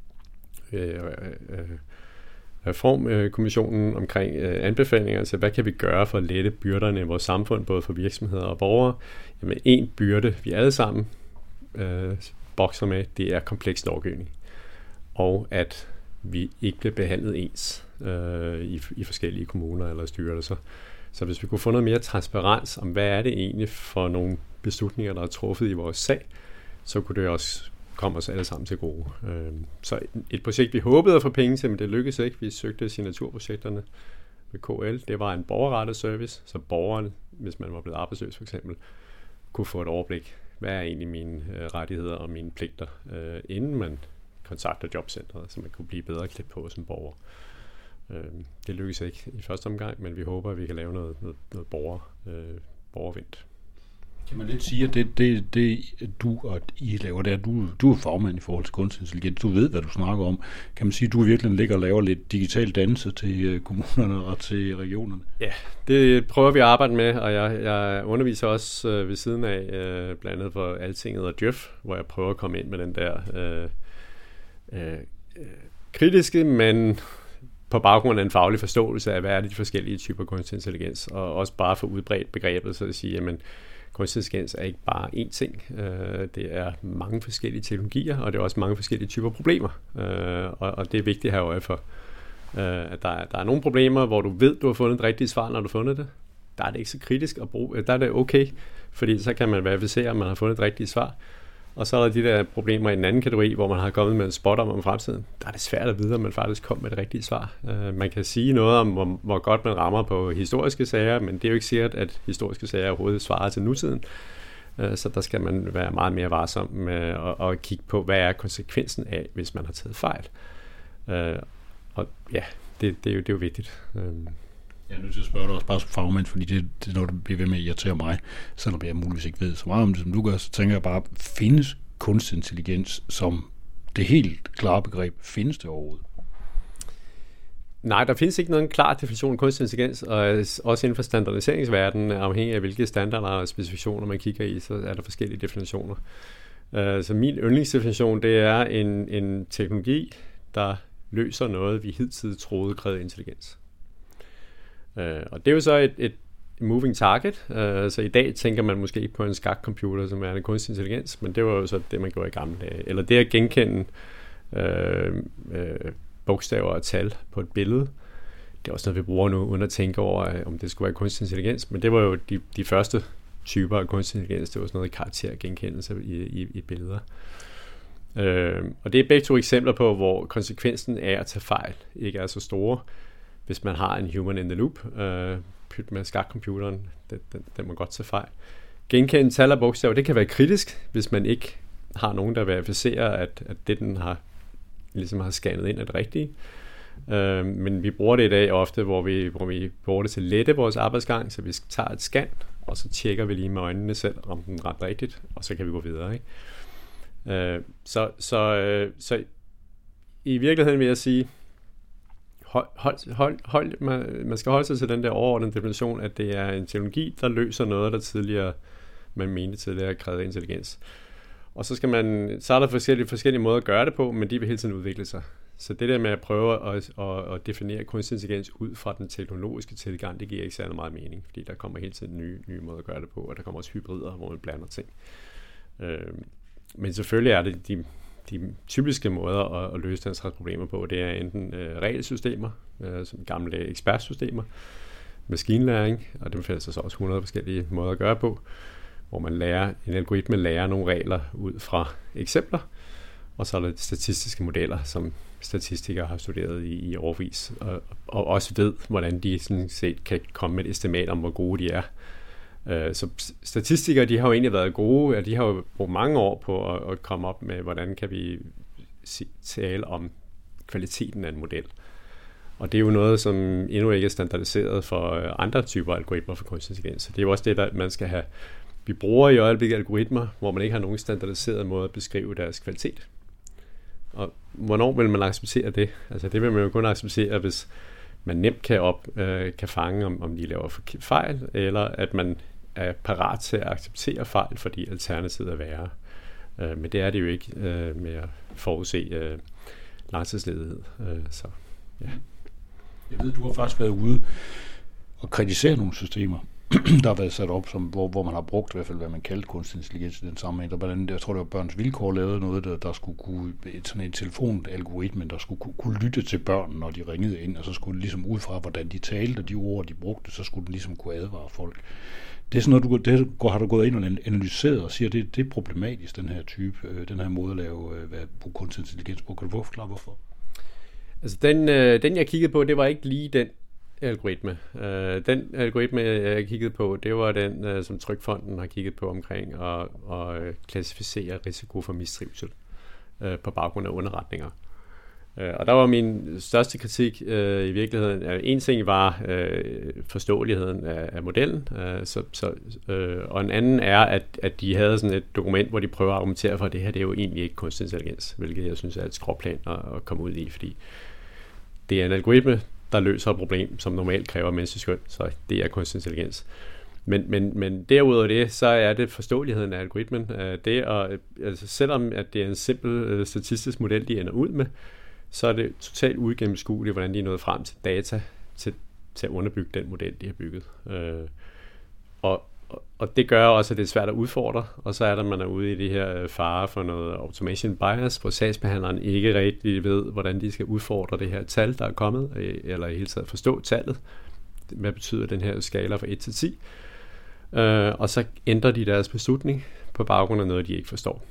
Reformkommissionen omkring anbefalinger til, hvad kan vi gøre for at lette byrderne i vores samfund, både for virksomheder og borgere. Jamen, en byrde, vi alle sammen bokser med, det er kompleks lovgivning. Og at vi ikke bliver behandlet ens i forskellige kommuner eller styrelser. Så hvis vi kunne få noget mere transparens om, hvad er det egentlig for nogle beslutninger, der er truffet i vores sag, så kunne det også kommer os alle sammen til gode. Så et projekt, vi håbede at få penge til, men det lykkedes ikke. Vi søgte signaturprojekterne med KL. Det var en borgerrettet service, så borgeren, hvis man var blevet arbejdsløs for eksempel, kunne få et overblik. Hvad er egentlig mine rettigheder og mine pligter, inden man kontakter jobcentret, så man kunne blive bedre klædt på som borger. Det lykkedes ikke i første omgang, men vi håber, at vi kan lave noget borgervendt. Kan man lidt sige, at det du og I laver der, du er fagmand i forhold til kunstig intelligens, du ved, hvad du snakker om. Kan man sige, at du virkelig ligger og laver lidt digital dannelse til kommunerne og til regionerne? Ja, det prøver vi at arbejde med, og jeg underviser også ved siden af, blandt andet for Altinget og Djøf, hvor jeg prøver at komme ind med den der kritiske, men på baggrund af en faglig forståelse af, hvad er det de forskellige typer kunstig intelligens, og også bare få udbredt begrebet, så at sige, jamen, kunstig intelligens er ikke bare én ting. Det er mange forskellige teknologier, og det er også mange forskellige typer problemer. Og det er vigtigt at have øje for, at der er nogle problemer, hvor du ved, du har fundet et rigtigt svar, når du har fundet det. Der er det ikke så kritisk at bruge. Der er det okay, fordi så kan man verificere, at man har fundet et rigtigt svar. Og så er der de der problemer i en anden kategori, hvor man har kommet med en spot om fremtiden. Der er det svært at vide, om man faktisk kom med det rigtige svar. Man kan sige noget om, hvor godt man rammer på historiske sager, men det er jo ikke sikkert, at historiske sager overhovedet svarer til nutiden. Så der skal man være meget mere varsom med at kigge på, hvad er konsekvensen af, hvis man har taget fejl. Og ja, det er jo vigtigt. Jeg er nødt til at spørge dig også bare som fagmand, fordi det er noget, der bliver ved med at irritere mig, selvom jeg muligvis ikke ved så meget om det, som du gør, så tænker jeg bare, findes kunstig intelligens som det helt klare begreb? Findes det overhovedet? Nej, der findes ikke nogen klar definition af kunstig intelligens, og også inden for standardiseringsverdenen, afhængig af hvilke standarder og specifikationer man kigger i, så er der forskellige definitioner. Så min yndlingsdefinition, det er en teknologi, der løser noget, vi hidtil troede krævede intelligens. Og det er jo så et moving target, så i dag tænker man måske på en skakcomputer, som er en kunstig intelligens, men det var jo så det, man gjorde i gamle dage. Eller det at genkende bogstaver og tal på et billede, det er også noget, vi bruger nu, uden at tænke over, om det skulle være kunstig intelligens, men det var jo de første typer af kunstig intelligens, det var sådan noget karaktergenkendelse i billeder. Og det er begge to eksempler på, hvor konsekvensen af at tage fejl ikke er så store, hvis man har en human in the loop, pyt med skakcomputeren, den må godt tage fejl. Genkende tal og bogstaver, det kan være kritisk, hvis man ikke har nogen, der verificerer, at det, den ligesom har scannet ind, er det rigtige. Men vi bruger det i dag ofte, hvor vi bruger det til at lette vores arbejdsgang, så vi tager et scan, og så tjekker vi lige med øjnene selv, om den er ret rigtigt, og så kan vi gå videre. Ikke? Så i virkeligheden vil jeg sige, man skal holde sig til den der overordnede definition, at det er en teknologi, der løser noget, der man mente tidligere krævede intelligens. Og så er der forskellige måder at gøre det på, men de vil hele tiden udvikle sig. Så det der med at prøve at definere kunstig intelligens ud fra den teknologiske tilgang, det giver ikke særlig meget mening, fordi der kommer hele tiden nye måder at gøre det på, og der kommer også hybrider, hvor man blander ting. Men selvfølgelig er det de typiske måder at løse den slags problemer på, det er enten regelsystemer, som gamle ekspertsystemer, maskinlæring, og dem findes så også 100 forskellige måder at gøre på, hvor en algoritme lærer nogle regler ud fra eksempler, og så er der statistiske modeller, som statistikere har studeret i årevis, og også ved, hvordan de sådan set kan komme med et estimat om, hvor gode de er. Så statistikere, de har jo egentlig været gode, og de har jo brugt mange år på at komme op med, hvordan kan vi tale om kvaliteten af en model. Og det er jo noget, som endnu ikke er standardiseret for andre typer algoritmer for kunstig intelligens. Så det er jo også det, der man skal have. Vi bruger i øjeblikket algoritmer, hvor man ikke har nogen standardiseret måde at beskrive deres kvalitet. Og hvornår vil man acceptere det? Altså det vil man jo kun acceptere, hvis man nemt kan fange, om de laver fejl, eller at man er parat til at acceptere fejl, fordi alternativet er værre. Men det er det jo ikke med at forudse langtidsledighed. Så, ja. Jeg ved, du har faktisk været ude og kritisere nogle systemer. der har været sat op, hvor man har brugt i hvert fald, hvad man kaldte kunstig intelligens i den sammenhæng. Der blandt andet, jeg tror, det var Børns Vilkår lavede noget, der skulle kunne, sådan en telefonalgoritme, der skulle kunne lytte til børn, når de ringede ind, og så skulle det ligesom ud fra, hvordan de talte, og de ord, de brugte, så skulle den ligesom kunne advare folk. Det er sådan noget, har du gået ind og analyseret og siger, det er problematisk, den her type, den her måde at lave kunstig intelligens på. Kan du forklare, hvorfor? Altså den jeg kiggede på, det var ikke lige den algoritme. Den algoritme, jeg kiggede på, det var den, som Trygfonden har kigget på omkring at klassificere risiko for mistrivsel på baggrund af underretninger. Og der var min største kritik i virkeligheden, en ting var forståeligheden af modellen, og en anden er, at de havde sådan et dokument, hvor de prøver at argumentere for, at det her det er jo egentlig ikke kunstig intelligens, hvilket jeg synes er et skråplan at komme ud i, fordi det er en algoritme, der løser et problem, som normalt kræver menneskelig skøn, så det er kunstig intelligens. Men derudover det, så er det forståeligheden af algoritmen. Selvom at det er en simpel statistisk model, de ender ud med, så er det totalt uigennemskueligt, hvordan de er nået frem til data til at underbygge den model, de har bygget. Og det gør også, at det er svært at udfordre, og så er der, man er ude i det her fare for noget automation bias, hvor sagsbehandleren ikke rigtig ved, hvordan de skal udfordre det her tal, der er kommet, eller i hele taget forstå tallet. Hvad betyder den her skala fra 1 til 10? Og så ændrer de deres beslutning på baggrund af noget, de ikke forstår.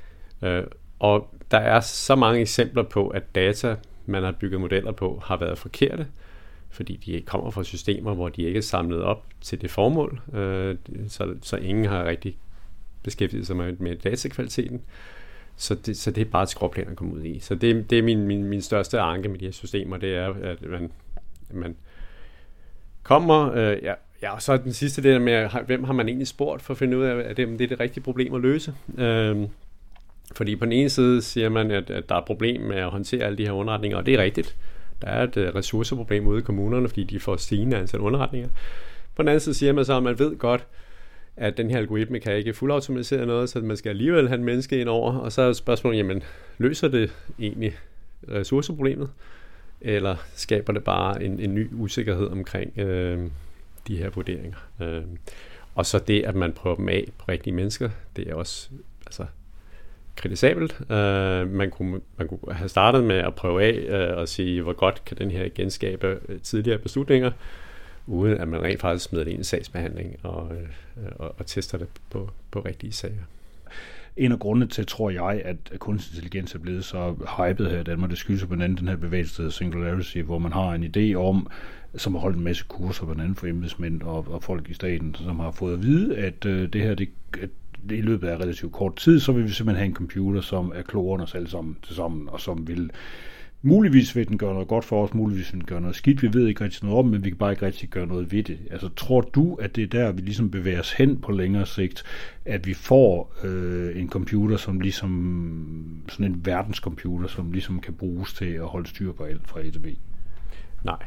Og der er så mange eksempler på, at data, man har bygget modeller på, har været forkerte, fordi de kommer fra systemer, hvor de ikke er samlet op til det formål, så ingen har rigtig beskæftiget sig med datakvaliteten. Så det er bare et skråplan at komme ud i. Så det er min største anke med de her systemer, det er, at man kommer... og så den sidste del med, hvem har man egentlig spurgt for at finde ud af, at det er det rigtige problem at løse. Fordi på den ene side siger man, at der er et problem med at håndtere alle de her underretninger, og det er rigtigt. Der er et ressourceproblem ude i kommunerne, fordi de får stigende antal underretninger. På den anden side siger man så, at man ved godt, at den her algoritme kan ikke fuldautomatisere noget, så man skal alligevel have en menneske ind over. Og så er spørgsmålet, jamen, løser det egentlig ressourceproblemet? Eller skaber det bare en ny usikkerhed omkring de her vurderinger? Og så det, at man prøver dem af på rigtige mennesker, det er også kritisabelt. Man kunne have startet med at prøve af og sige, hvor godt kan den her genskabe tidligere beslutninger, uden at man rent faktisk smider det ind i sagsbehandling og tester det på rigtige sager. En af grundene til, tror jeg, at kunstig intelligens er blevet så hypet her i Danmark, det skyldes blandt andet den her bevægelse Singularity, hvor man har en idé om, som har holdt en masse kurser, blandt andet for embedsmænd og folk i staten, som har fået at vide, at det her, i løbet af relativt kort tid, så vil vi simpelthen have en computer, som er klogere end os alle sammen til sammen, og som vil muligvis vil den gøre noget godt for os, muligvis vil den gøre noget skidt. Vi ved ikke rigtig noget om, men vi kan bare ikke rigtig gøre noget ved det. Altså, tror du, at det er der, vi ligesom bevæger os hen på længere sigt, at vi får en computer, som ligesom sådan en verdenscomputer, som ligesom kan bruges til at holde styr på alt fra A til B? Nej,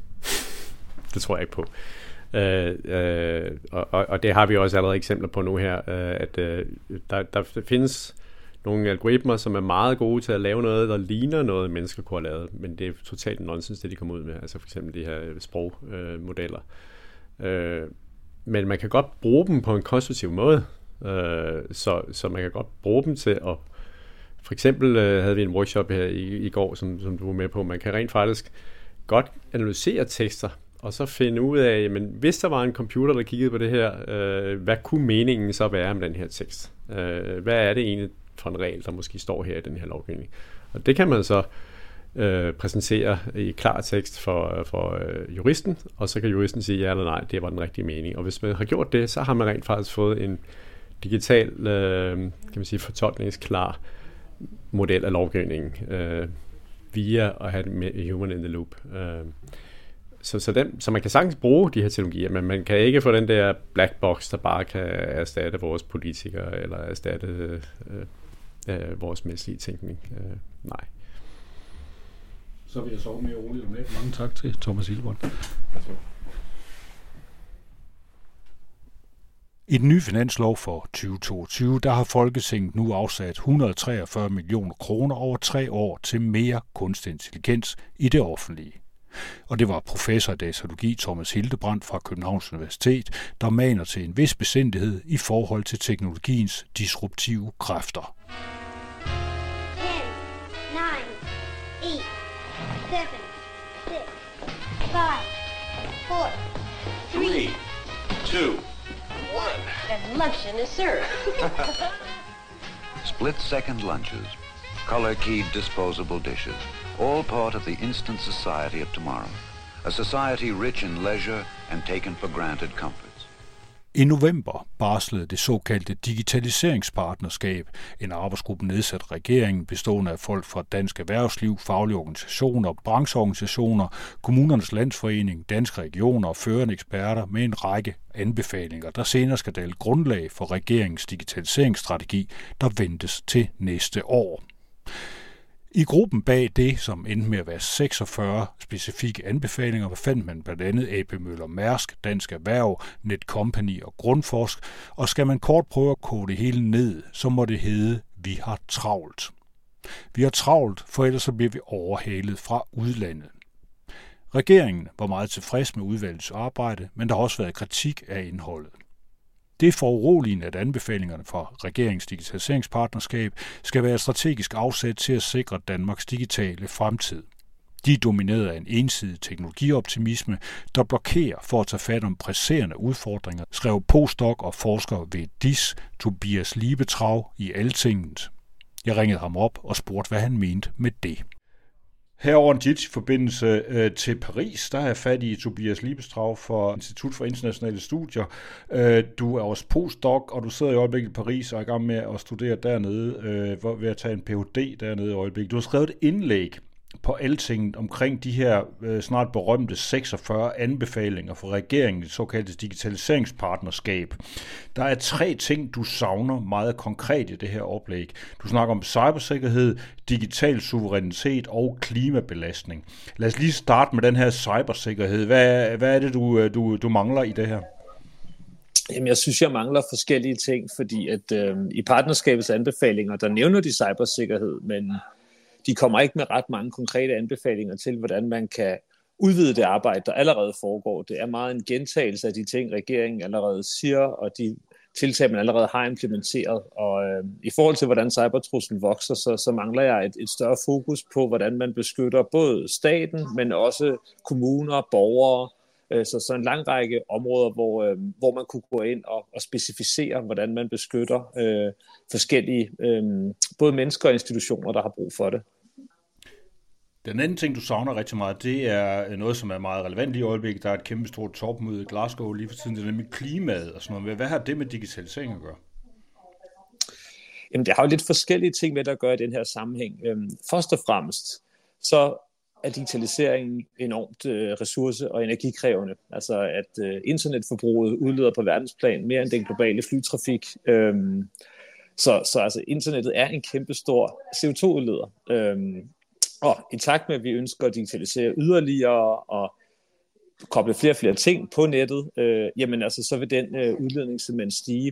det tror jeg ikke på. Og det har vi også allerede eksempler på nu her, at der findes nogle algoritmer, som er meget gode til at lave noget, der ligner noget, mennesker kunne have lavet, men det er totalt nonsens, det de kommer ud med, altså for eksempel de her sprogmodeller. Men man kan godt bruge dem på en konstruktiv måde, så man kan godt bruge dem til at... For eksempel havde vi en workshop her i går, som du var med på, man kan rent faktisk godt analysere tekster, og så finde ud af, jamen, hvis der var en computer, der kiggede på det her, hvad kunne meningen så være med den her tekst? Hvad er det egentlig for en regel, der måske står her i den her lovgivning? Og det kan man så præsentere i klar tekst for juristen, og så kan juristen sige ja eller nej, det var den rigtige mening. Og hvis man har gjort det, så har man rent faktisk fået en digital, kan man sige, fortolkningsklar model af lovgivningen, via at have human in the loop. Så man kan sagtens bruge de her teknologier, men man kan ikke få den der black box, der bare kan erstatte vores politikere, eller erstatte vores menneskelige tænkning. Nej. Så vil jeg sove mere roligt om lidt. Mange tak til Thomas Hillebrand. I den nye finanslov for 2022, der har Folketinget nu afsat 143 millioner kroner over 3 år til mere kunstig intelligens i det offentlige. Og det var professor i datalogi Thomas Hildebrandt fra Københavns Universitet, der maner til en vis besindighed i forhold til teknologiens disruptive kræfter. 10, 9, 8, 7, 6, 5, 4, 3, 2, 1. And luncheon is served. Split-second lunches, color-keyed disposable dishes, all part of the instant society of tomorrow. A society rich in leisure and taken for granted comforts. I november barslede det såkaldte digitaliseringspartnerskab, en arbejdsgruppe nedsat regeringen bestående af folk fra Dansk Erhvervsliv, faglige organisationer, brancheorganisationer, Kommunernes Landsforening, Danske Regioner og førende eksperter med en række anbefalinger, der senere skal danne grundlag for regeringens digitaliseringsstrategi, der ventes til næste år. I gruppen bag det, som endte med at være 46 specifikke anbefalinger, fandt man blandt andet AP Møller Mærsk, Dansk Erhverv, Netcompany og Grundforsk, og skal man kort prøve at koge det hele ned, så må det hedde, vi har travlt. Vi har travlt, for ellers så bliver vi overhalet fra udlandet. Regeringen var meget tilfreds med udvalgets arbejde, men der har også været kritik af indholdet. Det er foruroligende, at anbefalingerne fra regeringens digitaliseringspartnerskab skal være et strategisk afsæt til at sikre Danmarks digitale fremtid. De er domineret af en ensidig teknologioptimisme, der blokerer for at tage fat om presserende udfordringer, skrev postdoc og forsker ved DIS, Tobias Liebetrav, i Altinget. Jeg ringede ham op og spurgte, hvad han mente med det. Herover en JIT-forbindelse til Paris, der har jeg fat i Tobias Liebetrav fra Institut for Internationale Studier. Du er også postdoc, og du sidder i øjeblikket i Paris og er i gang med at studere dernede, ved at tage en Ph.D. dernede i øjeblikket. Du har skrevet et indlæg på Altinget omkring de her snart berømte 46 anbefalinger fra regeringen, det såkaldte digitaliseringspartnerskab. Der er 3 ting, du savner meget konkret i det her oplæg. Du snakker om cybersikkerhed, digital suverænitet og klimabelastning. Lad os lige starte med den her cybersikkerhed. Hvad er det, du mangler i det her? Jamen, jeg synes, jeg mangler forskellige ting, fordi at i partnerskabets anbefalinger, der nævner de cybersikkerhed, men de kommer ikke med ret mange konkrete anbefalinger til, hvordan man kan udvide det arbejde, der allerede foregår. Det er meget en gentagelse af de ting, regeringen allerede siger, og de tiltag, man allerede har implementeret. Og i forhold til, hvordan cybertruslen vokser, så mangler jeg et større fokus på, hvordan man beskytter både staten, men også kommuner, borgere. Så en lang række områder, hvor man kunne gå ind og specificere, hvordan man beskytter forskellige, både mennesker og institutioner, der har brug for det. Den anden ting, du savner rigtig meget, det er noget, som er meget relevant i øjeblikket. Der er et kæmpe stort topmøde i Glasgow lige for tiden, det er nemlig klimaet og sådan noget. Hvad har det med digitalisering at gøre? Jamen, det har jo lidt forskellige ting med at gøre i den her sammenhæng. Først og fremmest, så er digitaliseringen enormt ressource- og energikrævende. Altså at internetforbruget udleder på verdensplan mere end den globale flytrafik. Så altså internettet er en kæmpe stor CO2-udleder. Og i takt med, at vi ønsker at digitalisere yderligere og koble flere og flere ting på nettet, jamen altså, så vil den udledning simpelthen stige.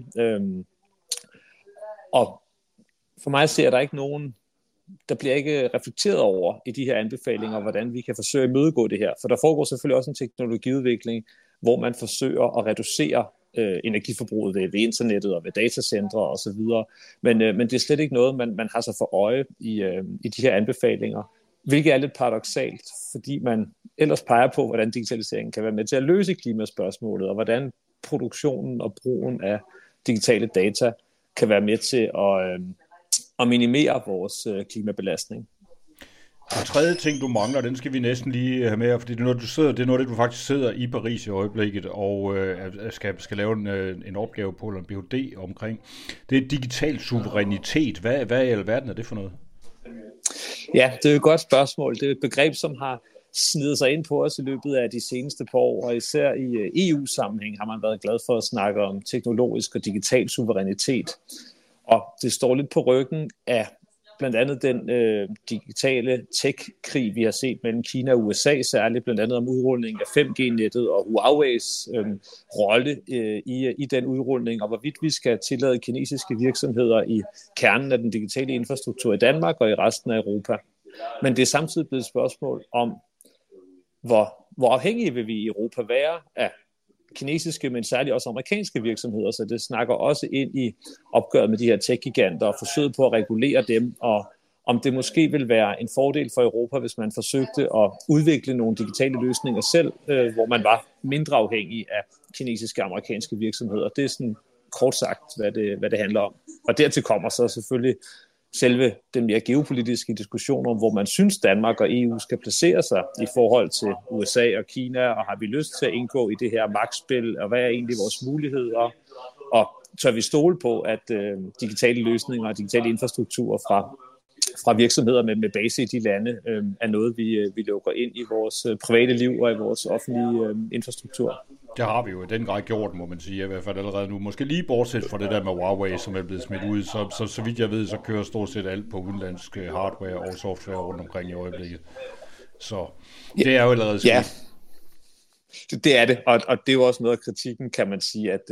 Og for mig ser der ikke nogen, der bliver ikke reflekteret over i de her anbefalinger, hvordan vi kan forsøge at imødegå det her. For der foregår selvfølgelig også en teknologiudvikling, hvor man forsøger at reducere energiforbruget ved internettet og ved datacentre osv. Men det er slet ikke noget, man har sig for øje i de her anbefalinger, hvilket er lidt paradoksalt, fordi man ellers peger på, hvordan digitaliseringen kan være med til at løse klimaspørgsmålet, og hvordan produktionen og brugen af digitale data kan være med til at minimere vores klimabelastning. Og tredje ting, du mangler, den skal vi næsten lige have med, fordi det er noget, det du faktisk sidder i Paris i øjeblikket, og skal lave en opgave på, eller en Ph.D. omkring. Det er digital suverænitet. Hvad i alverden er det for noget? Ja, det er et godt spørgsmål. Det er et begreb, som har snedet sig ind på os i løbet af de seneste par år, og især i EU-sammenhæng har man været glad for at snakke om teknologisk og digital suverænitet. Og det står lidt på ryggen af blandt andet den digitale tech-krig, vi har set mellem Kina og USA, særligt blandt andet om udrulning af 5G-nettet og Huawei's rolle i den udrulning, og hvorvidt vi skal tillade kinesiske virksomheder i kernen af den digitale infrastruktur i Danmark og i resten af Europa. Men det er samtidig blevet et spørgsmål om, hvor afhængige vil vi i Europa være af kinesiske, men særligt også amerikanske virksomheder, så det snakker også ind i opgøret med de her tech-giganter og forsøget på at regulere dem, og om det måske vil være en fordel for Europa, hvis man forsøgte at udvikle nogle digitale løsninger selv, hvor man var mindre afhængig af kinesiske og amerikanske virksomheder. Det er sådan kort sagt, hvad det handler om. Og dertil kommer så selvfølgelig selve den mere geopolitiske diskussion om, hvor man synes Danmark og EU skal placere sig i forhold til USA og Kina, og har vi lyst til at indgå i det her magtspil, og hvad er egentlig vores muligheder, og tør vi stole på, at digitale løsninger og digitale infrastrukturer fra virksomheder med base i de lande er noget, vi lukker ind i vores private liv og i vores offentlige infrastruktur. Det har vi jo i den grad gjort, må man sige, i hvert fald allerede nu. Måske lige bortset fra det der med Huawei, som er blevet smidt ud, så vidt jeg ved, så kører stort set alt på udenlandsk hardware og software rundt omkring i øjeblikket. Så det er jo allerede skidt. Ja, det er det, og det er jo også noget af kritikken, kan man sige, at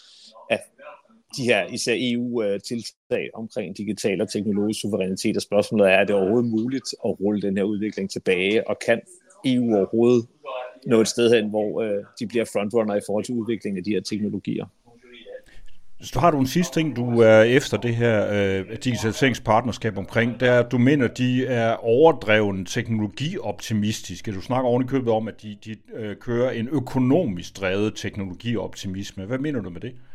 de her især EU-tiltag omkring digital og teknologisk suverænitet, og spørgsmålet er det overhovedet muligt at rulle den her udvikling tilbage, og kan EU overhovedet nå et sted hen, hvor de bliver frontrunner i forhold til udviklingen af de her teknologier? Så har du en sidste ting, du er efter det her digitaliseringspartnerskab omkring, der du mener, de er overdreven teknologioptimistiske. Du snakker oven i købet om, at de kører en økonomisk drevet teknologioptimisme. Hvad mener du med det?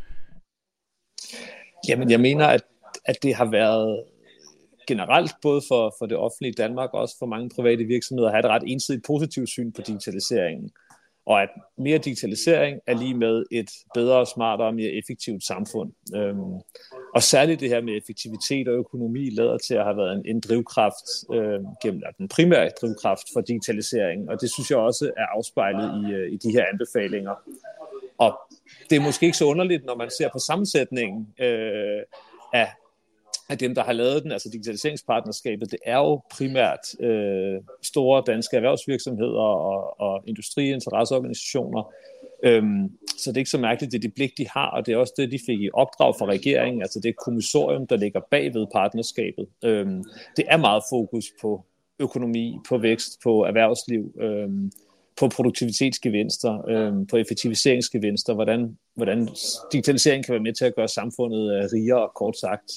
Jamen, jeg mener, at det har været generelt, både for det offentlige Danmark og også for mange private virksomheder, at have et ret ensidigt positivt syn på digitaliseringen. Og at mere digitalisering er lige med et bedre, smartere og mere effektivt samfund. Og særligt det her med effektivitet og økonomi lader til at have været en drivkraft, den primære drivkraft for digitaliseringen. Og det synes jeg også er afspejlet i de her anbefalinger. Og det er måske ikke så underligt, når man ser på sammensætningen af dem, der har lavet den, altså digitaliseringspartnerskabet. Det er jo primært store danske erhvervsvirksomheder og industriinteresseorganisationer. Så det er ikke så mærkeligt, det er det blik, de har, og det er også det, de fik i opdrag fra regeringen, altså det kommissorium, der ligger bagved partnerskabet. Det er meget fokus på økonomi, på vækst, på erhvervsliv, på produktivitetsgevinster, på effektiviseringsgevinster, hvordan digitalisering kan være med til at gøre samfundet rigere, kort sagt.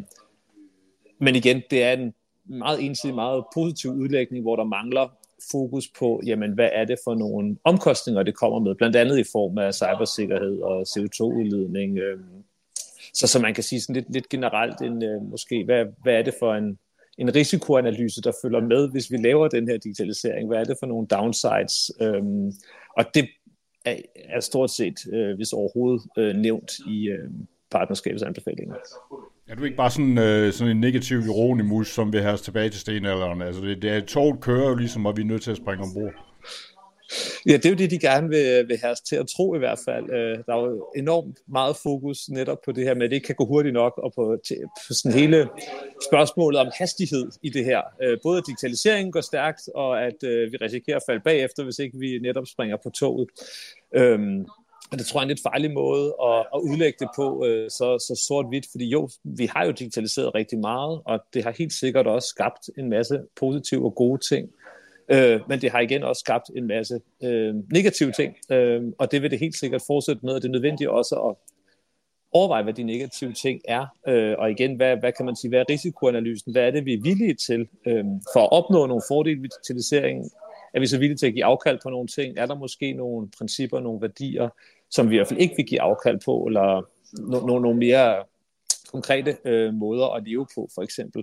Men igen, det er en meget ensidig, meget positiv udlægning, hvor der mangler fokus på, jamen, hvad er det for nogle omkostninger, det kommer med, blandt andet i form af cybersikkerhed og CO2-udledning. Så man kan sige sådan lidt generelt, måske, hvad er det for en risikoanalyse, der følger med, hvis vi laver den her digitalisering? Hvad er det for nogle downsides? Og det er stort set, hvis overhovedet, nævnt i partnerskabets anbefalinger. Er du ikke bare sådan en negativ ironimus, som vil have os tilbage til stenalderen? Altså det er toget kører jo ligesom, og vi er nødt til at springe ombord. Ja, det er jo det, de gerne vil have os til at tro i hvert fald. Der er jo enormt meget fokus netop på det her med, at det ikke kan gå hurtigt nok, og på sådan hele spørgsmålet om hastighed i det her. Både at digitaliseringen går stærkt, og at vi risikerer at falde bagefter, hvis ikke vi netop springer på toget. Og det tror jeg er en lidt farlig måde at udlægge det på så sort-hvidt, fordi jo, vi har jo digitaliseret rigtig meget, og det har helt sikkert også skabt en masse positive og gode ting. Men det har igen også skabt en masse negative ting, og det vil det helt sikkert fortsætte med, og det er nødvendigt også at overveje, hvad de negative ting er, og igen, hvad kan man sige, hvad er risikoanalysen, hvad er det, vi er villige til for at opnå nogle fordele ved digitaliseringen, er vi så villige til at give afkald på nogle ting, er der måske nogle principper, nogle værdier, som vi i hvert fald ikke vil give afkald på, eller nogle mere konkrete måder at leve på, for eksempel.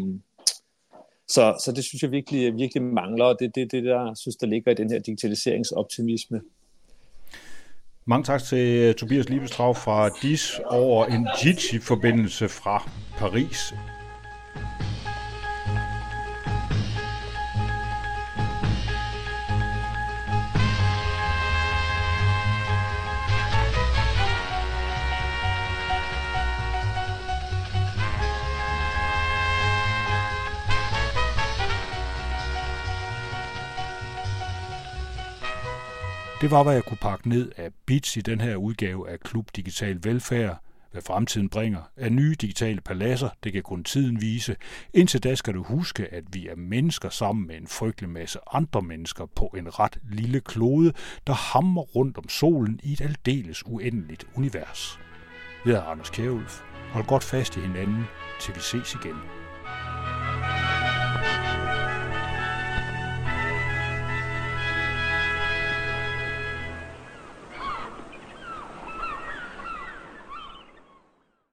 Så det synes jeg virkelig mangler, og det er det, der synes, der ligger i den her digitaliseringsoptimisme. Mange tak til Tobias Liebestrau fra DIS over en Jitsi-forbindelse fra Paris. Det var, hvad jeg kunne pakke ned af bits i den her udgave af Klub Digital Velfærd. Hvad fremtiden bringer af nye digitale paladser, det kan kun tiden vise. Indtil da skal du huske, at vi er mennesker sammen med en frygtelig masse andre mennesker på en ret lille klode, der hamrer rundt om solen i et aldeles uendeligt univers. Jeg er Anders Kjærulf. Hold godt fast i hinanden, til vi ses igen.